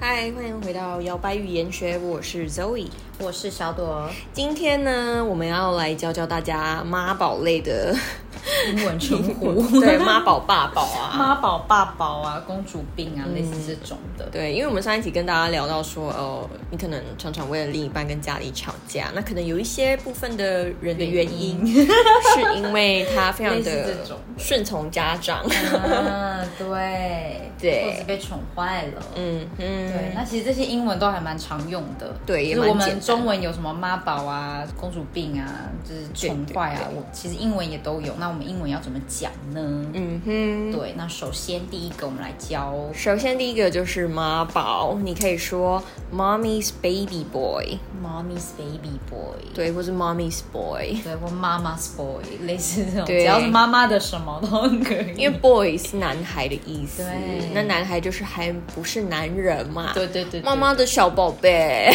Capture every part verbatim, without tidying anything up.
嗨，欢迎回到摇摆语言学，我是 Zoe， 我是小朵。 今天呢，我们要来教教大家妈宝类的英文称呼， 对，妈宝爸宝啊， 妈宝爸宝啊，公主病啊，嗯、类似这种的。 对，因为我们上一集跟大家聊到说，哦，你可能常常为了另一半跟家里吵架，那可能有一些部分的人的原因是因为他非常的顺从家长， 嗯，对对， 或者被宠坏了， 嗯嗯， 对。那其实这些英文都还蛮常用的， 对，也蛮简单。就是我们中文有什么妈宝啊、公主病啊，就是宠坏啊，我其实英文也都有。那我们英文要怎么讲呢？嗯哼，对。那首先第一个我们来教， 首先第一个就是妈宝，你可以说 Mommy's baby boy，Mommy's baby boy， 对，或是 Mommy's boy， 对，或 Mama's boy， 类似这种，只要是妈妈的什么都可以。 因为 boy 是男孩的意思， 对， 那男孩就是还不是男人嘛， 对对 对, 对， 妈妈的小宝贝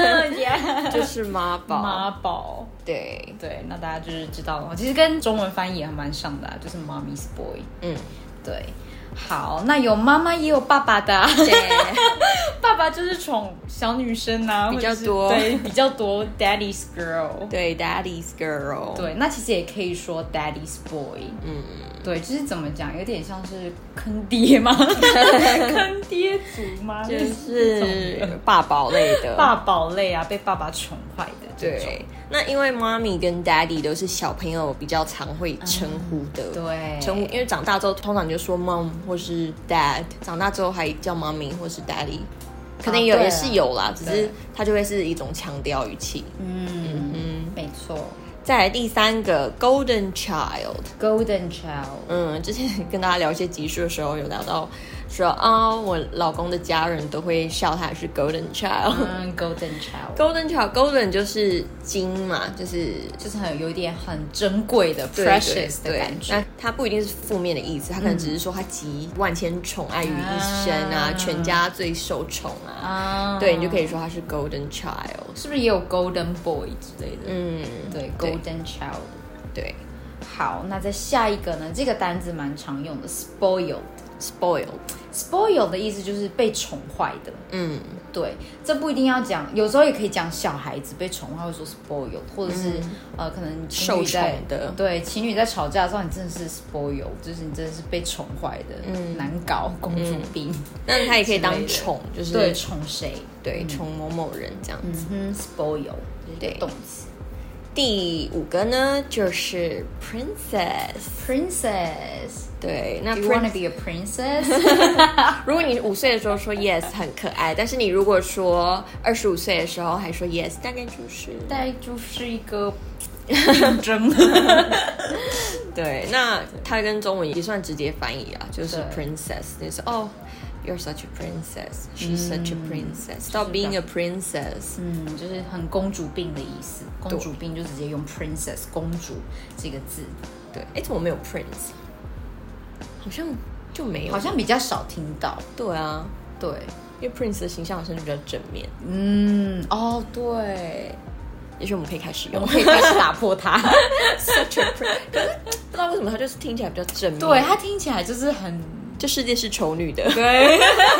，yeah, 就是妈宝， 妈宝， 对对，那大家就是知道了，其实跟中文翻译也还蛮像的、啊，就是 Mommy's boy， 嗯，对。好，那有妈妈也有爸爸的、啊， 对， 爸爸就是宠小女生啊， 比较多， 对，比较多 ，Daddy's girl， 对 ，Daddy's girl， 对，那其实也可以说 Daddy's boy， 嗯，对，就是怎么讲，有点像是坑爹吗？坑爹族吗？ 就是爸宝类的， 爸宝类啊，被爸爸宠坏的， 对。那因为妈咪跟 daddy 都是小朋友比较常会称呼的， 嗯、对， 称呼，因为长大之后通常就说 mom 或是 dad， 长大之后还叫妈咪或是 daddy， 可能有、啊、也是有啦，只是它就会是一种强调语气。嗯嗯嗯， 没错。 再来第三个 golden child，golden child， 嗯，之前跟大家聊一些集数的时候有聊到。说啊、哦，我老公的家人都会笑他是 golden child， 嗯 ，golden child，golden child，golden 就是金嘛，就是就是很有一点很珍贵的 precious 的感觉。 那它不一定是负面的意思，它可能只是说他集万千宠爱于一身啊，啊全家最受宠啊，啊对你就可以说他是 golden child， 是不是也有 golden boy 之类的？嗯，对 ，golden child， 对。 好，那在下一个呢？这个单字蛮常用的 ，spoiled，spoiled。spoiled 的意思就是被宠坏的，嗯，对，这不一定要讲，有时候也可以讲小孩子被宠坏，会说 spoiled， 或者是、嗯、呃，可能情侣在受宠的， 对，情侣在吵架的时候，你真的是 spoiled， 就是你真的是被宠坏的，嗯，难搞，公主病。嗯、 那他也可以当宠，就是对宠谁， 对宠、嗯、某某人这样子， 嗯 ，spoil 对动词。 第五个呢，就是 princess，princess， 对，那 Do you wanna be a princess？ 如果你五岁的时候说 yes 很可爱，但是你如果说二十五岁的时候还说 yes， 大概就是大概就是一个竞争。 对，那它跟中文也算直接翻译啊，就是 princess， 就是哦。You're such a princess. She's、嗯、such a princess. Stop being a princess. 嗯，就是很公主病的意思。公主病就直接用 princess 公主这个字。 对，哎，怎么没有 prince？ 好像就没有， 好像比较少听到。 对啊， 对， 因为 prince 的形象好像就比较正面。 嗯，哦，对。 也许我们可以开始用， 我们可以开始打破它。 Such a princess， 可是不知道为什么它就是听起来比较正面。 对，它听起来就是很。 这世界是丑女的， 对。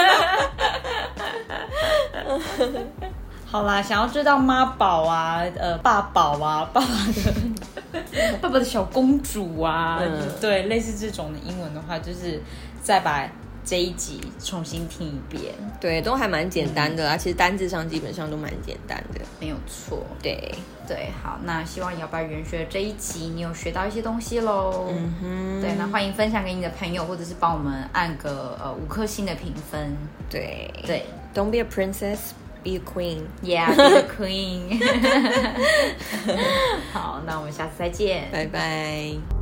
好啦，想要知道妈宝啊，呃，爸宝啊，爸爸的爸爸的小公主啊，嗯、对，类似这种的英文的话，就是再把这一集重新听一遍。 对，都还蛮简单的啊、嗯，其实单字上基本上都蛮简单的， 没有错。 对对，好，那希望摇摆语言学这一集你有学到一些东西咯。嗯哼，对，那欢迎分享给你的朋友，或者是帮我们按个呃五颗星的评分。 对对 ，Don't be a princess, be a queen. Yeah, be a queen. 好，那我们下次再见， 拜拜。